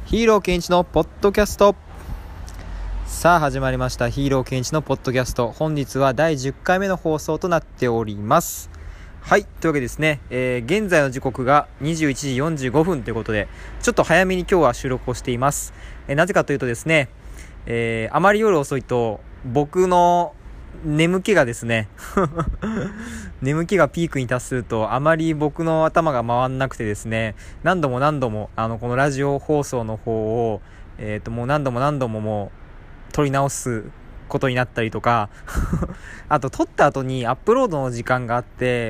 ヒーローケンイチのポッドキャスト。さあ始まりました、ヒーローケンイチのポッドキャスト。本日は第10回目の放送となっております。はい、というわけでですね、現在の時刻が21時45分ということで、ちょっと早めに今日は収録をしています。なぜかというとですね、あまり夜遅いと僕の眠気がですね眠気がピークに達すると、あまり僕の頭が回んなくてですね、何度もこのラジオ放送の方をもう何度ももう撮り直すことになったりとかあと撮った後にアップロードの時間があって、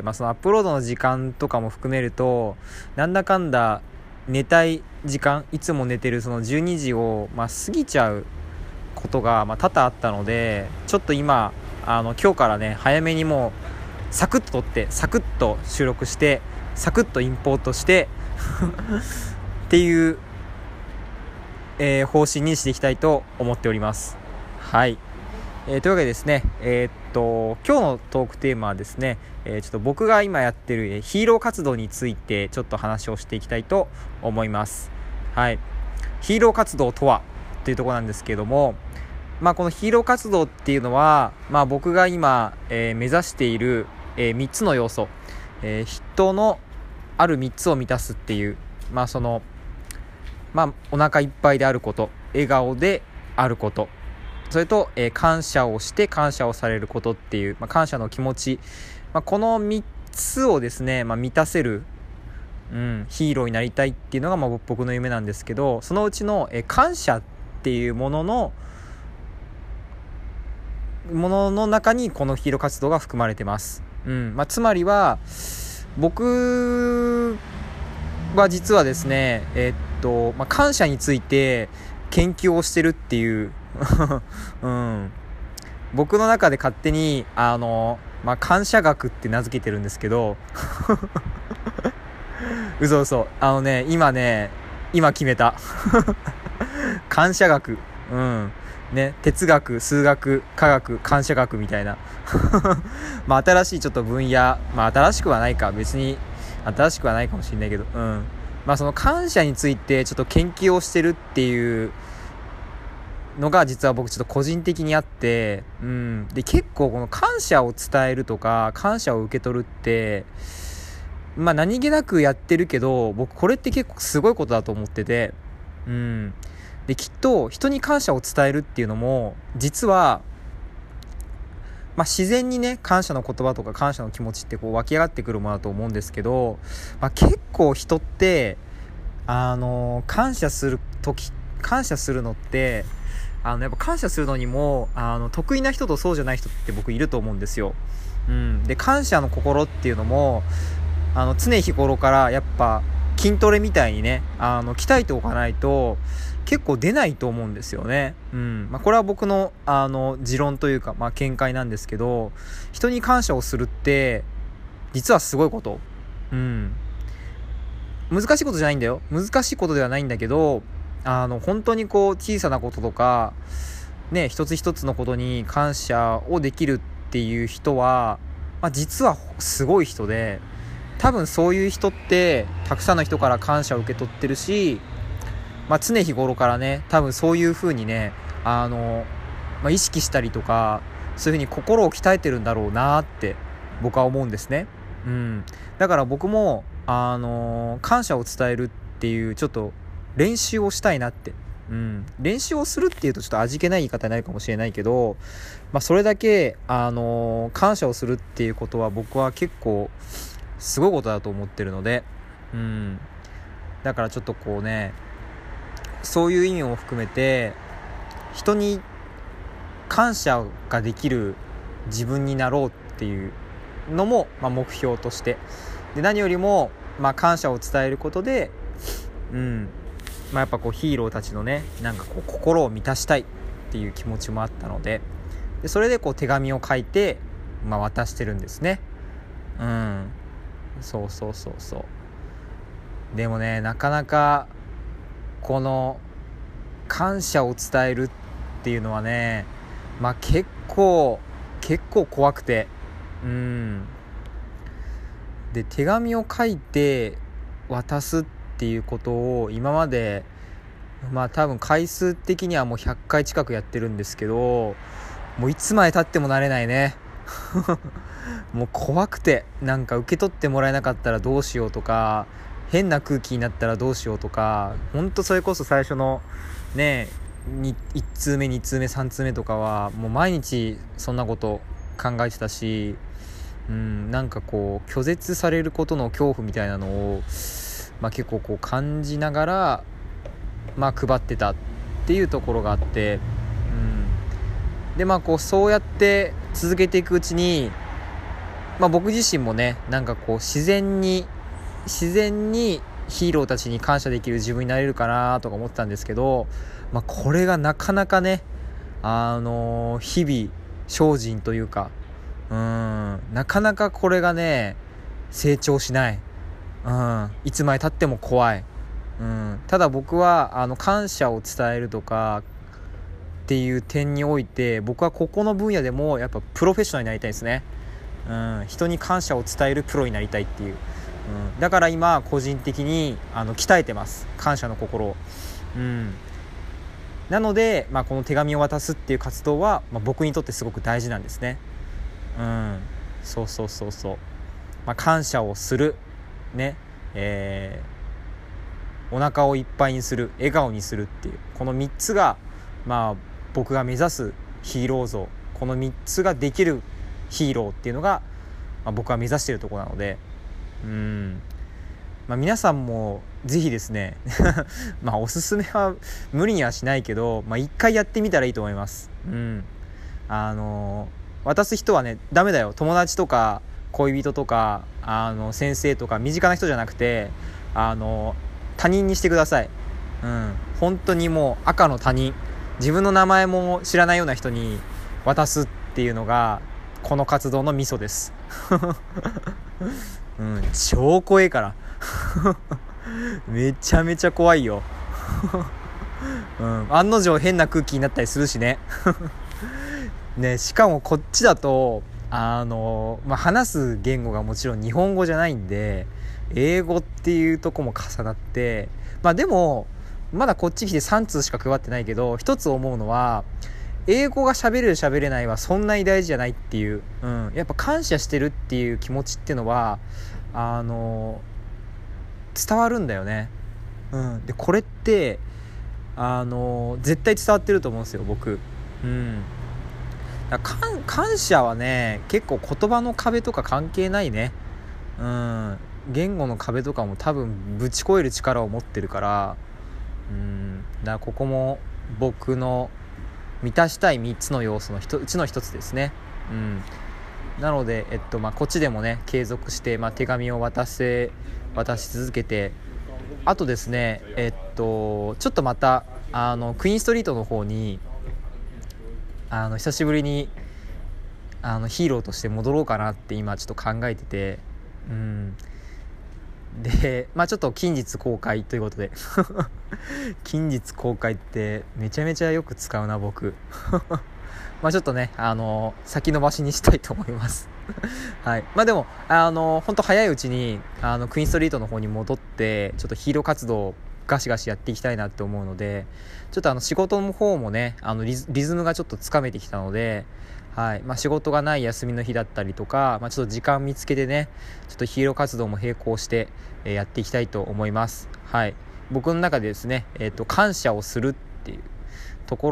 そのアップロードの時間とかも含めると、なんだかんだ寝たい時間、いつも寝てるその12時を過ぎちゃうことが多々あったので、ちょっと今今日からね、早めにもうサクッと撮って、サクッと収録して、サクッとインポートしてっていう、方針にしていきたいと思っております。はい、というわけでですね、今日のトークテーマはですね、ちょっと僕が今やってるヒーロー活動についてちょっと話をしていきたいと思います。はい、ヒーロー活動とはというところなんですけれども、このヒーロー活動っていうのは、僕が今、目指している、3つの要素、人のある3つを満たすっていう、そのお腹いっぱいであること、笑顔であること、それと、感謝をして感謝をされることっていう、感謝の気持ち、この3つをですね、満たせる、ヒーローになりたいっていうのが、僕の夢なんですけど、そのうちの、感謝っていうものの中にこのヒーロー活動が含まれてます。つまりは僕は実はですね、感謝について研究をしてるっていう僕の中で勝手に感謝学って名付けてるんですけど嘘今決めた感謝学、哲学、数学、科学、感謝学みたいな新しいちょっと分野、新しくはないか、別に新しくはないかもしれないけど、その感謝についてちょっと研究をしてるっていうのが実は僕ちょっと個人的にあって、で結構この感謝を伝えるとか感謝を受け取るって何気なくやってるけど、僕これって結構すごいことだと思ってて、できっと人に感謝を伝えるっていうのも実は自然にね、感謝の言葉とか感謝の気持ちって湧き上がってくるものだと思うんですけど、結構人って感謝するのってやっぱ感謝するのにも得意な人とそうじゃない人って僕いると思うんですよ。で感謝の心っていうのも常日頃からやっぱ筋トレみたいにね鍛えておかないと結構出ないと思うんですよね。これは僕の持論というか見解なんですけど、人に感謝をするって実はすごいこと、難しいことじゃないんだよ。難しいことではないんだけど、本当に小さなこととかね、一つ一つのことに感謝をできるっていう人は、実はすごい人で、多分そういう人ってたくさんの人から感謝を受け取ってるし、常日頃からね、多分そういう風にね意識したりとか、そういう風に心を鍛えてるんだろうなって僕は思うんですね。だから僕も感謝を伝えるっていうちょっと練習をしたいなって、練習をするっていうとちょっと味気ない言い方になるかもしれないけど、それだけ感謝をするっていうことは僕は結構すごいことだと思ってるので、だからちょっとそういう意味も含めて人に感謝ができる自分になろうっていうのも目標として、で何よりも感謝を伝えることでやっぱヒーローたちのね、心を満たしたいっていう気持ちもあったので、それで手紙を書いて渡してるんですね。そうでもね、なかなかこの感謝を伝えるっていうのはね、結構怖くて、で手紙を書いて渡すっていうことを今までまあ多分回数的にはもう100回近くやってるんですけど、もういつまで経っても慣れないね。もう怖くて、なんか受け取ってもらえなかったらどうしようとか、変な空気になったらどうしようとか、ほんとそれこそ最初のね1通目2通目3通目とかはもう毎日そんなこと考えてたし、なんかこう拒絶されることの恐怖みたいなのを、結構こう感じながら配ってたっていうところがあって、でこうそうやって続けていくうちに、僕自身もねなんかこう自然にヒーローたちに感謝できる自分になれるかなとか思ってたんですけど、これがなかなかね日々精進というか、なかなかこれがね成長しない、いつまで経っても怖い、ただ僕は感謝を伝えるとかっていう点において、僕はここの分野でもやっぱプロフェッショナルになりたいですね。人に感謝を伝えるプロになりたいっていう、だから今個人的に鍛えてます、感謝の心を。なので、この手紙を渡すっていう活動は、僕にとってすごく大事なんですね。そう、感謝をするね、お腹をいっぱいにする、笑顔にするっていう、この3つが僕が目指すヒーロー像、この3つができるヒーローっていうのが、僕は目指しているところなので、皆さんもぜひですねおすすめは無理にはしないけど、一回やってみたらいいと思います。渡す人はねダメだよ。友達とか恋人とか先生とか身近な人じゃなくて他人にしてください。本当にもう赤の他人、自分の名前も知らないような人に渡すっていうのがこの活動のミソです。超怖いからめちゃめちゃ怖いよ。案の定変な空気になったりするしね。ね、しかもこっちだと話す言語がもちろん日本語じゃないんで、英語っていうとこも重なって、でもまだこっち来て3通しか配ってないけど、一つ思うのは英語が喋れる喋れないはそんなに大事じゃないっていう、やっぱ感謝してるっていう気持ちっていうのは伝わるんだよね。でこれって絶対伝わってると思うんですよ僕。感謝はね結構言葉の壁とか関係ないね。言語の壁とかも多分ぶち越える力を持ってるから、だからここも僕の満たしたい3つの要素のうちの1つですね。なので、こっちでもね継続して、手紙を渡し続けて、あとですねちょっとまたクイーンストリートの方に久しぶりにヒーローとして戻ろうかなって今ちょっと考えてて、でちょっと近日公開ということで近日公開ってめちゃめちゃよく使うな僕。ちょっとね先延ばしにしたいと思います。はい。でも本当早いうちにクイーンストリートの方に戻ってちょっとヒーロー活動をガシガシやっていきたいなって思うので、ちょっと仕事の方もねリズムがちょっとつかめてきたので、はい。仕事がない休みの日だったりとか、ちょっと時間見つけてねちょっとヒーロー活動も並行して、やっていきたいと思います。はい。僕の中でですね感謝をするっていうとこ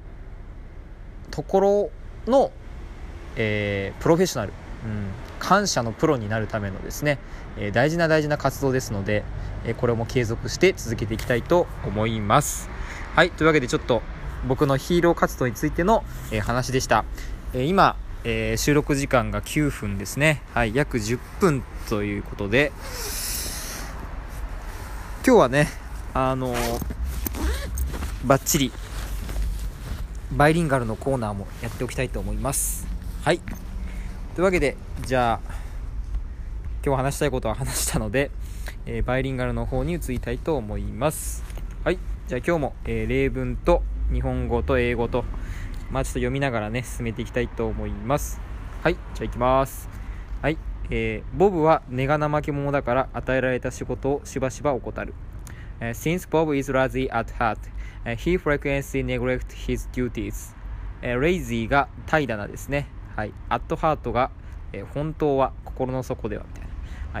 ろの、プロフェッショナル、感謝のプロになるためのですね、大事な活動ですので、これも継続して続けていきたいと思います。はい。というわけでちょっと僕のヒーロー活動についての、話でした。今、収録時間が9分ですね。はい。約10分ということで、今日はねバッチリバイリンガルのコーナーもやっておきたいと思います。はい。というわけでじゃあ今日話したいことは話したので、バイリンガルの方に移りたいと思います。はい。じゃあ今日も、例文と日本語と英語とちょっと読みながらね進めていきたいと思います。はい。じゃあ行きます。はい。ボブは根が怠け者だから与えられた仕事をしばしば怠る。 Since Bob is lazy at heart, he frequently neglects his duties. lazy が怠惰なですね。はい。at heart が、本当は心の底ではみたいな。はい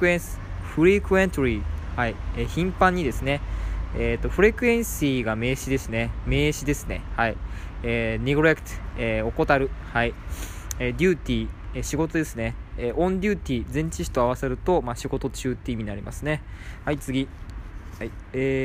。frequently はい。頻繁にですね。frequency が名詞ですね。名詞ですね。はい。neglect、怠る。はい。duty、仕事ですね。on duty 前置詞と合わせると、仕事中って意味になりますね。はい、次。はい。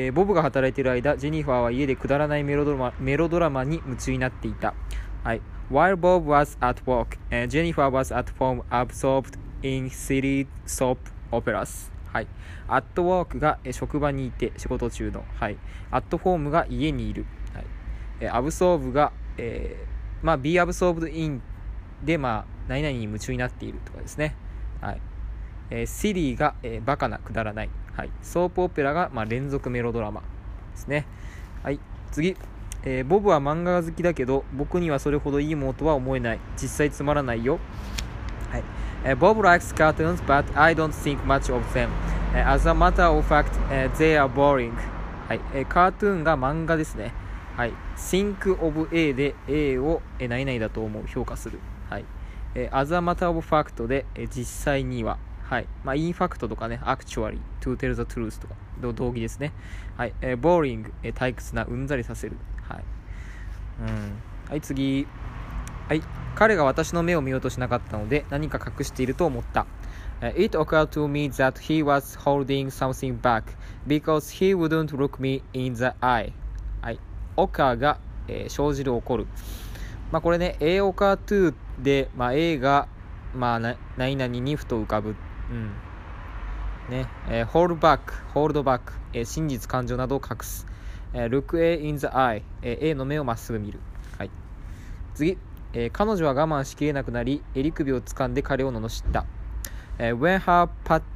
ボブが働いている間、ジェニファーは家でくだらないメロドラマに夢中になっていた。はい。While Bob was at work, Jennifer was at home absorbed in silly soap operas. はい。at work が職場にいて仕事中の。はい。at home が家にいる。はい。absorb が、be absorbed in で、何々に夢中になっているとかですね。はい。silly が、バカな、くだらない。はい。ソープオペラが、連続メロドラマですね。はい。次。ボブは漫画が好きだけど、僕にはそれほどいいものとは思えない。実際つまらないよ。はい。Bob likes cartoons, but I don't think much of them. As a matter of fact, they are boring. はい。カートゥーンが漫画ですね。はい。think of A で A を何々だと思う、評価する。はい。as a matter of fact で実際には。はい。in fact とかね、actually, to tell the truth とか、同義ですね。はい。boring、退屈な、うんざりさせる。はい。はい、次。はい。彼が私の目を見ようとしなかったので、何か隠していると思った。It occurred to me that he was holding something back because he wouldn't look me in the eye. はい。occur が、生じる、起こる。これね、A occur to で、A が、何々にふと浮かぶ。ね。hold back、真実、感情などを隠す。look A in the eye、A の目をまっすぐ見る。はい。次。彼女は我慢しきれなくなり、襟首を掴んで彼を罵った。when her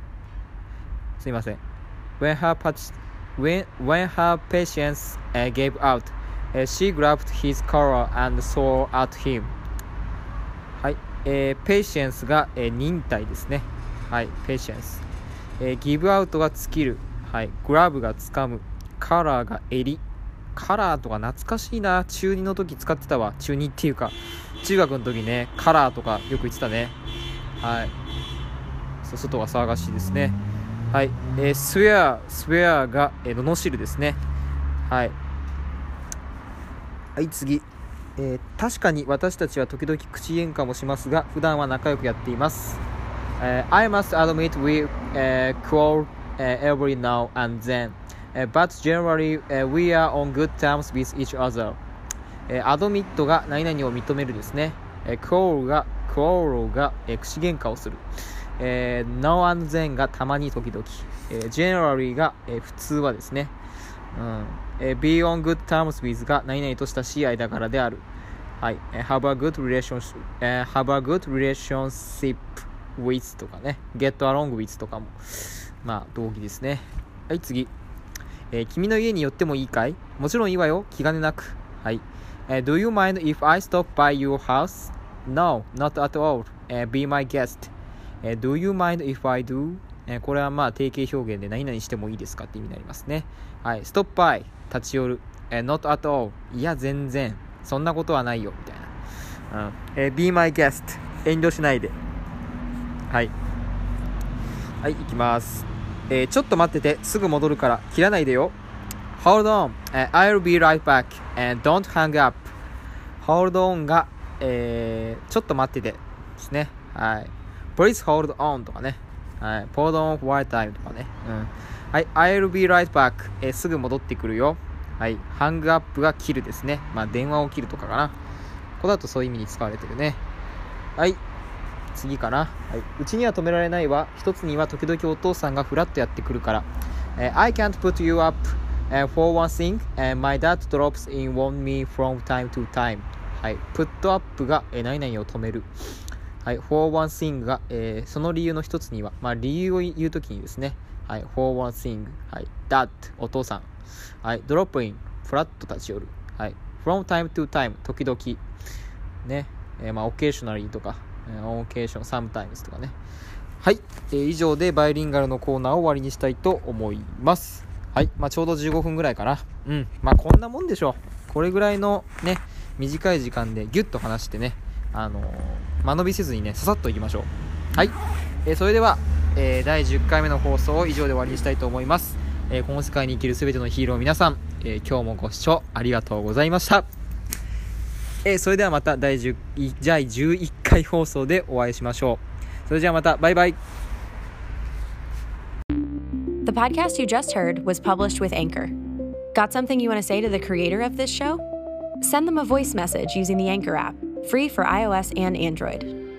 patience gave out, she grabbed his collar and swore at him. はい。patience が、忍耐ですね。はい。patience。give out が尽きる。はい。grab が掴む。カラーが襟。カラーとか懐かしいな。中2の時使ってたわ。中2っていうか中学の時ね、カラーとかよく言ってたね。はい。外は騒がしいですね。はい。swear が、罵るですね。はい。はい、次。確かに私たちは時々口喧嘩もしますが、普段は仲良くやっています。I must admit we quarrel every now and then.But generally, we are on good terms with each other. admit が何々を認めるですね。quarrel が口喧嘩をする。now and then がたまに時々。generally が普通はですね。be on good terms with が何々と親しい間柄である。はい。have a good relationship with とかね。get along with とかも。同義ですね。はい、次。君の家に寄ってもいいかい？もちろんいいわよ。気兼ねなく。はい。Do you mind if I stop by your house? No, not at all. Be my guest. Do you mind if I do? これは定型表現で何々してもいいですかって意味になりますね。はい。stop by 立ち寄る。not at all いや全然そんなことはないよみたいな。be my guest 遠慮しないで。はい。はい、行きます。ちょっと待ってて、すぐ戻るから切らないでよ。Hold on, I'll be right back, and don't hang up. Hold on が、ちょっと待っててですね。はい。Please hold on とかね。はい。Hold on for a time とかね。はい。I'll be right back、すぐ戻ってくるよ。はい。hang up が切るですね。電話を切るとかかな。ここだとそういう意味に使われてるね。はい。次かな。はい。うちには止められないわ。一つには時々お父さんがフラッとやってくるから。I can't put you up, for one thing, my dad drops in on me from time to time. はい。put up が、何々を止める。はい。for one thing が、その理由の一つには、理由を言うときにですね。はい。for one thing. はい。dad お父さん。はい。drop in フラッと立ち寄る。はい。from time to time 時々ね。occasionally とか。on occasion, sometimes とかね。はい、以上でバイリンガルのコーナーを終わりにしたいと思います。 はい、ちょうど15分ぐらいかな。こんなもんでしょう。これぐらいのね、短い時間でギュッと話してね、間延びせずにね、ささっといきましょう。はい、それでは、第10回目の放送を以上で終わりにしたいと思います。この世界に生きるすべてのヒーロー皆さん、今日もご視聴ありがとうございました。それではまた第11回放送でお会いしましょう。それじゃあまた、バイバイ。 The podcast you just heard was published with Anchor. Got something you want to say to the creator of this show? Send them a voice message using the Anchor app, free for iOS and Android.